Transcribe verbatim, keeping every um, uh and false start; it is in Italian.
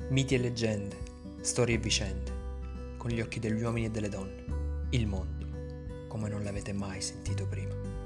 Miti e leggende, storie e vicende, con gli occhi degli uomini e delle donne, il mondo, come non l'avete mai sentito prima.